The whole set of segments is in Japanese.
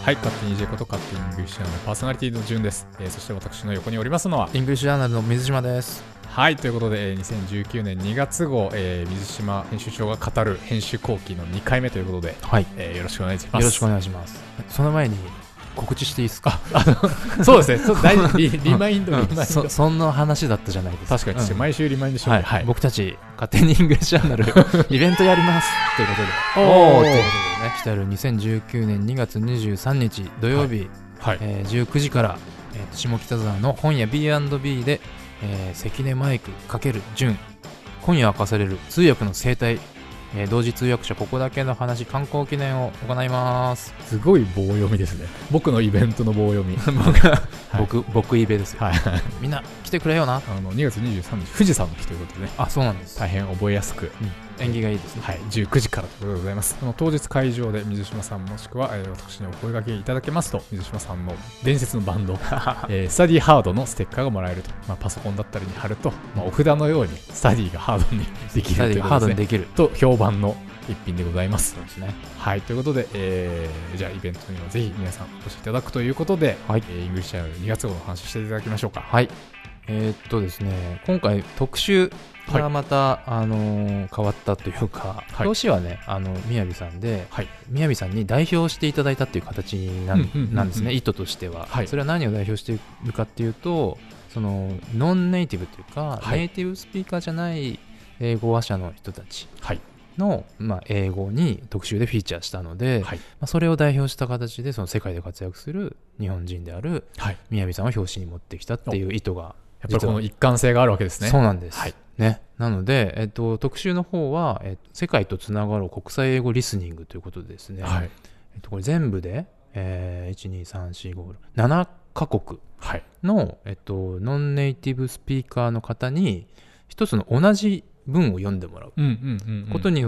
はい、勝手に EJ こと勝手にイングリッシュアナルパーソナリティの順です。そして私の横におりますのはイングリッシュアナルの水島です。 はい、ということで、2019年2月号、水島編集長が語る編集後期の2回目ということで、 はい、 よろしくお願いします。 よろしくお願いします。その前に告知していいですか？ そうですね、ちょっと大事リマインド、 そんな話だったじゃないですか。 確かに、毎週リマインドしてはいはい、僕たち勝手にイングリッシュアナルイベントやりますということで、ということでね、来たる2019年2月23日土曜日、はい19時から、下北沢の本屋 B&B で、関根マイク×純今夜明かされる通訳の生態、同時通訳者ここだけの話観光記念を行います。 すごい棒読みですね。僕のイベントの棒読み僕イベですよ、はい、みんな来てくれよな。 2月23日富士山の日ということでね。 あ、そうなんです。 大変覚えやすく、 縁起がいいですね。 はい、19時からということでございます。当日会場で水島さんもしくは、私にお声掛けいただけますと、水島さんの伝説のバンド、スタディハードのステッカーがもらえると、パソコンだったりに貼ると、お札のようにスタディがハードにできるということで、と評判の一品でございます。 そうですね。 はい、ということで、じゃあイベントにはぜひ皆さんお越しいただくということで、はい、イングリッシュアナル2月号の話していただきましょうか。 はい。ですね、今回特集がまた、変わったというか、表紙はね、みやびさんで、みやびさんに代表していただいたっていう形なんですね、意図としては。それは何を代表しているかっていうと、そのノンネイティブというか、ネイティブスピーカーじゃない英語話者の人たちの、英語に特集でフィーチャーしたので、それを代表した形でその世界で活躍する日本人であるみやびさんを表紙に持ってきたっていう意図が、 やっぱりこの一貫性があるわけですね。 そうなんです、ね、なので、特集の方は、世界とつながろう国際英語リスニングということでですね、これ全部で、1,2,3,4,5,6,7 カ国の、ノンネイティブスピーカーの方に一つの同じ文を読んでもらうことによって、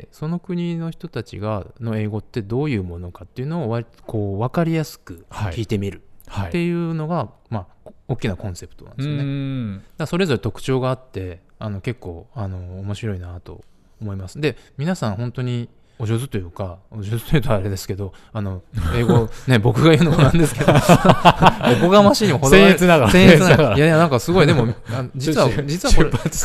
その国の人たちの英語ってどういうものかっていうのをこう分かりやすく聞いてみるっていうのが、大きなコンセプトなんですよね。だからそれぞれ特徴があって結構面白いなと思います。で、皆さん本当にお上手というか、お上手というとあれですけど、英語ね僕が言うのもなんですけどおこがましいにも程がある。僭越ながらいやなんかすごい、でも実はこれ実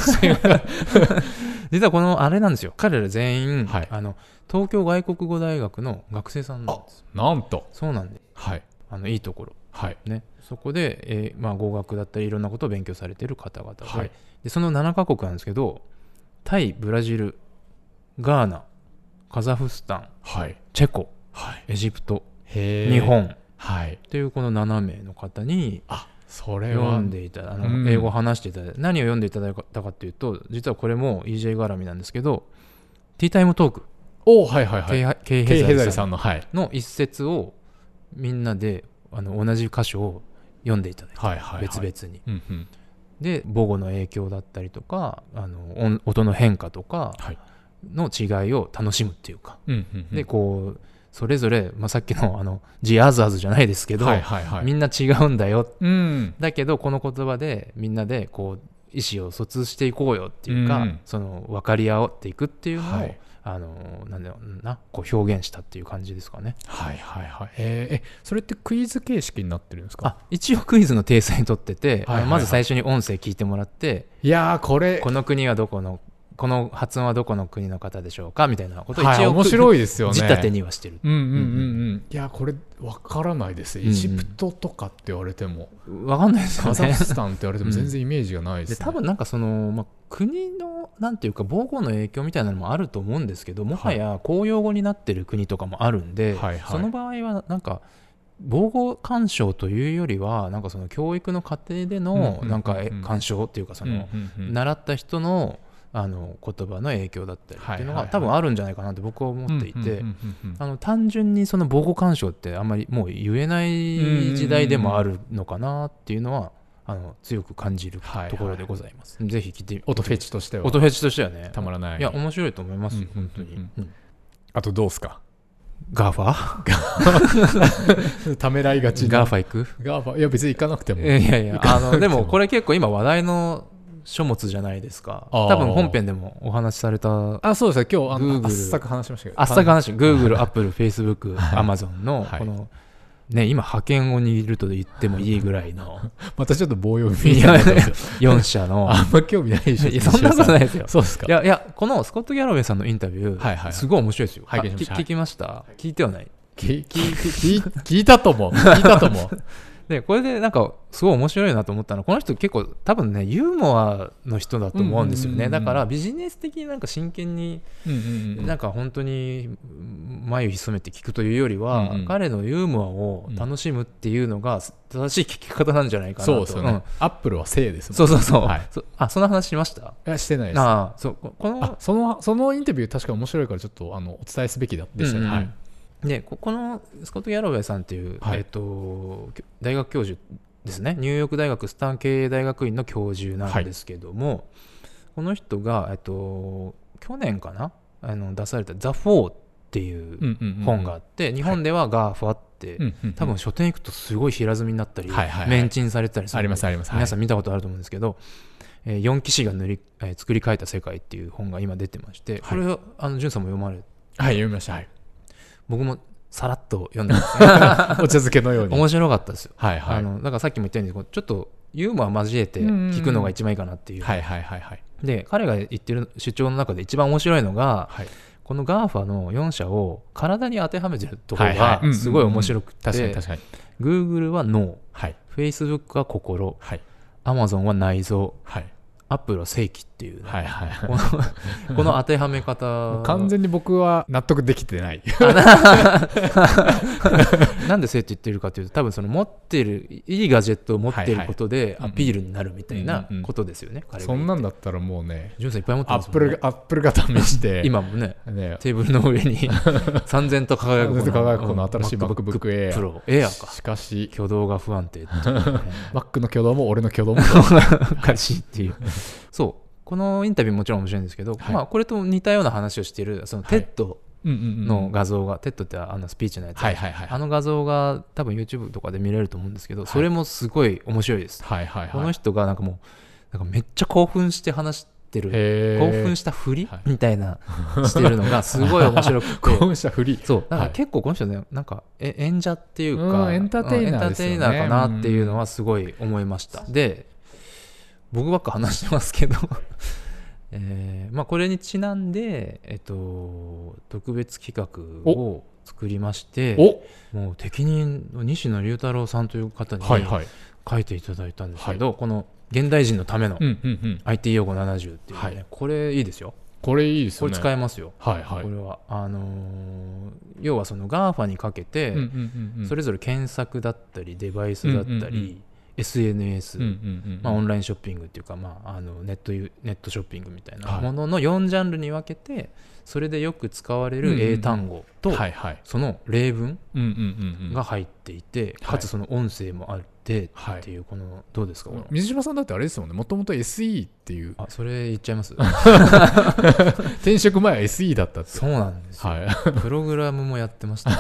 はこのあれなんですよ、彼ら全員、東京外国語大学の学生さんなんです。 なんとそうなんで、いいところ、ね、そこで、語学だったりいろんなことを勉強されている方々で、でその7カ国なんですけど、タイ、ブラジル、ガーナ、カザフスタン、チェコ、エジプト、日本というこの7名の方に読んでいただいた、英語を話していただいた。何を読んでいただいたかというと、実はこれも EJ 絡みなんですけど、ティータイムトーク、ケイヘザリさんの一節をみんなで同じ箇所を読んでいただいて、別々に、で母語の影響だったりとか音の変化とかの違いを楽しむっていうか、でこうそれぞれ、さっきのジアーズアーズじゃないですけど、みんな違うんだよ、だけどこの言葉でみんなでこう意思を疎通していこうよっていうか、その分かり合っていくっていうのを、なんだろうな、こう表現したっていう感じですかね。 それってクイズ形式になってるんですか？ 一応クイズの体裁にとってて、まず最初に音声聞いてもらって、この国はどこの、この発音はどこの国の方でしょうかみたいなことを一応、 面白いですよね。 仕立てにはしてる。 いやこれ分からないです。エジプトとかって言われても分かんないですよね。 カザフスタンって言われても全然イメージがないですね。 で多分なんかその、国のなんていうか母語の影響みたいなのもあると思うんですけど、もはや公用語になってる国とかもあるんで、その場合はなんか母語干渉というよりは、なんかその教育の過程でのなんか干渉っていうか、その習った人の言葉の影響だったりっていうのが多分あるんじゃないかなって僕は思っていて、単純にその母語干渉ってあんまりもう言えない時代でもあるのかなっていうのは強く感じるところでございます。ぜひ聞いてみて。 音フェチとしてはね、たまらない。 いや面白いと思います、本当に。 あとどうですか？ ガーファためらいがち。 ガーファ行く？ ガーファ、いや別に行かなくても。 でもこれ結構今話題の書物じゃないですか。多分本編でもお話しされた。 そうですね。今日あっさく話しましたけど。 Google、Apple、Facebook、Amazon のこのね、今覇権を握ると言ってもいいぐらいのまたちょっと棒読みみたいな 4社のあんま興味ないでしょ。 いやそんなことないですよ。 そうですか。 いやこのスコット・ギャロウェイさんのインタビュー、 はいはいはい、 すごい面白いですよ。 拝見しました。 聞きました、聞いてはない。 聞いたと思う。聞いたと思う。 でこれでなんかすごい面白いなと思ったのは、この人結構多分ねユーモアの人だと思うんですよね。だからビジネス的になんか真剣になんか本当に眉ひそめて聞くというよりは、彼のユーモアを楽しむっていうのが正しい聞き方なんじゃないかなと。 そうですよね。アップルは正ですもん。 そう、 はい、 その話しました？ いやしてないです。そのインタビュー確か面白いからちょっとお伝えすべきでしたね。はい。 でこのスコット・ギャロウェイさんっていう、大学教授ですね。ニューヨーク大学スタン経営大学院の教授なんですけども、この人が、去年かな出された「ザ・フォー」っていう本があって、日本ではガーファって、多分書店行くとすごい平積みになったり、メンチンされてたりする、 ありますあります。 皆さん見たことあると思うんですけど、4騎士が作り変えた世界っていう本が今出てまして、これを潤さんも読まれて？ はい、読みました。はい。 僕もさらっと読んでますね。 お茶漬けのように面白かったですよ。 はいはい。 だからさっきも言ったようにちょっとユーモア交えて聞くのが一番いいかなっていう。で彼が言ってる主張の中で一番面白いのが、この GAFA の4社を体に当てはめてるところがすごい面白くて、 確かに Google は脳、Facebook は心、Amazon は内臓、アップルは正規っていう、ね、この当てはめ方完全に僕は納得できてない。 なんで正って言ってるかというと、多分その持ってるいいガジェットを持っていることでアピールになるみたいなことですよね。 そんなんだったらもうね、 ジュンさんいっぱい持ってますもんね。 アップルが試して今もねテーブルの上に三千と輝くこの新しい MacBook Air Pro Air か。 しかし挙動が不安定って Mac の挙動も俺の挙動もおかしいっていう。そうこのインタビューもちろん面白いんですけど、これと似たような話をしているその TED の画像が、TED ってスピーチのやつ、あの画像が多分 YouTube とかで見れると思うんですけど、それもすごい面白いです。この人がなんかもうなんかめっちゃ興奮して話してる、興奮したふりみたいなしてるのがすごい面白くて興奮したふり、 そうだから結構この人ね、なんか演者っていうかエンターテイナーですよね。 エンターテイナーかなっていうのはすごい思いました。で僕ばっか話してますけどこれにちなんで、特別企画を作りまして、もう適任の西野龍太郎さんという方に書いていただいたんですけど、この現代人のための IT 用語70っていうね、これいいですよ。 これいいですよね。 これ使えますよ。これは要はその GAFA にかけてそれぞれ検索だったりデバイスだったりSNS、オンラインショッピングっていうか、ネットショッピングみたいなものの4ジャンルに分けて、それでよく使われる英単語とその例文が入っていて、かつその音声もあってっていう、このどうですか？ 水島さんだってあれですもんね、もともと SE っていう。 それ言っちゃいます？ 転職前は SE だったって。 そうなんですよ。プログラムもやってました。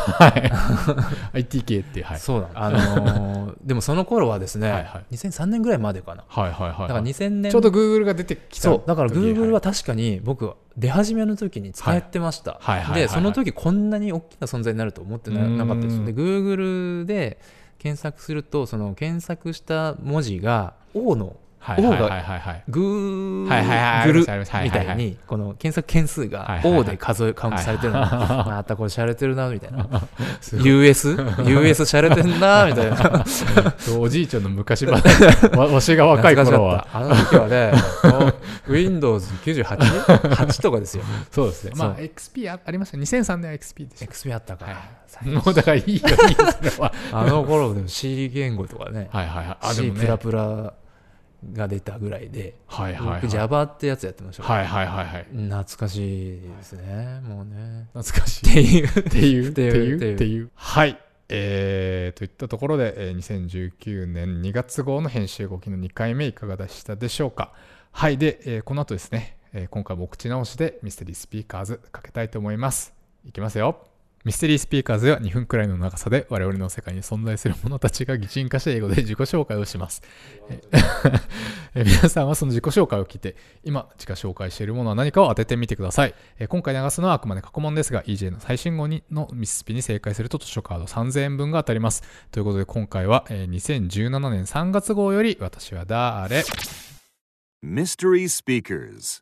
IT 系って。 そうなんでもその頃はですね、2003年ぐらいまでかな。だから2000年ちょうど Google が出てきた。 そうだから Google は確かに僕出始めの時に使ってました。でその時こんなに大きな存在になると思ってなかったです。で Google で検索すると、その検索した文字が O のO がグールみたいに、この検索件数が O でカウントされてるの。またこれしゃれてるなみたいな。US しゃれてんなみたいな。 おじいちゃんの昔話、わしが若い頃はあの時はねWindows 98とかですよ。 そうですね。XP ありました。2003年は XP でした。 XP あったか。 もうだからいいよそれは。 あの頃でも C 言語とかね、C プラプラが出たぐらいで、僕 Java ってやつやってましたから、懐かしいですね。もうね懐かしいっていう。はい、といったところで、2019年2月号の編集後期の2回目いかがでしたでしょうか。はい。で、この後ですね、今回もお口直しでミステリースピーカーズかけたいと思います。いきますよ。 ミステリースピーカーズでは2分くらいの長さで我々の世界に存在する者たちが擬人化した英語で自己紹介をします。皆さんはその自己紹介を聞いて、今自己紹介しているものは何かを当ててみてください。今回流すのはあくまで過去問ですが、EJ の最新号のミススピに正解すると図書カード3000円分が当たります。ということで今回は、2017年3月号より私は誰 Mystery Speakers.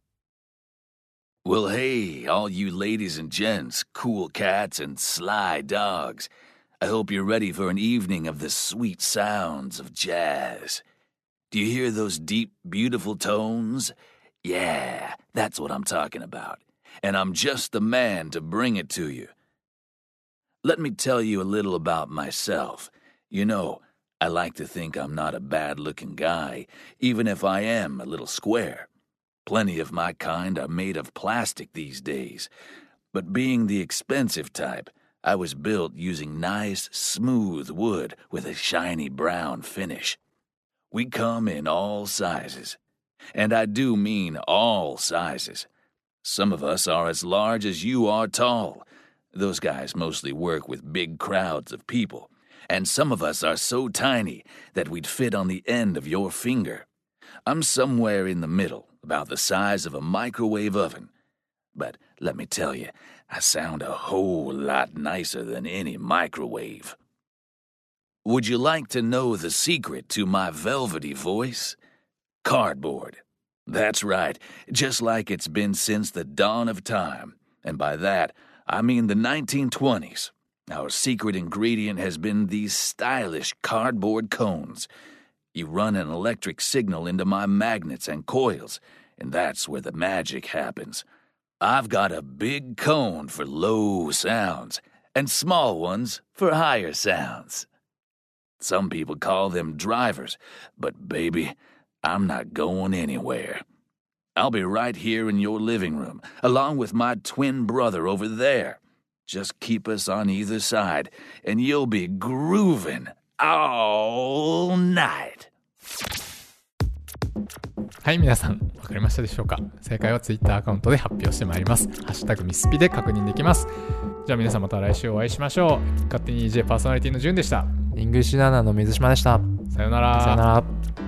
Well, hey, all you ladies and gents, cool cats and sly dogs. I hope you're ready for an evening of the sweet sounds of jazz. Do you hear those deep, beautiful tones? Yeah, that's what I'm talking about. And I'm just the man to bring it to you. Let me tell you a little about myself. You know, I like to think I'm not a bad-looking guy, even if I am a little square.Plenty of my kind are made of plastic these days. But being the expensive type, I was built using nice, smooth wood with a shiny brown finish. We come in all sizes. And I do mean all sizes. Some of us are as large as you are tall. Those guys mostly work with big crowds of people. And some of us are so tiny that we'd fit on the end of your finger. I'm somewhere in the middle.About the size of a microwave oven. But let me tell you, I sound a whole lot nicer than any microwave. Would you like to know the secret to my velvety voice? Cardboard. That's right, just like it's been since the dawn of time. And by that, I mean the 1920s. Our secret ingredient has been these stylish cardboard cones.You run an electric signal into my magnets and coils, and that's where the magic happens. I've got a big cone for low sounds, and small ones for higher sounds. Some people call them drivers, but baby, I'm not going anywhere. I'll be right here in your living room, along with my twin brother over there. Just keep us on either side, and you'll be grooving.All night. はい、皆さん分かりましたでしょうか。正解は Twitter アカウントで発表してまいります。ハッシュタグミスピで確認できます。じゃあ皆さんまた来週お会いしましょう。勝手に EJ パーソナリティのじゅんでした。 イングリッシュナナの水島でした。 さよなら。 さよなら。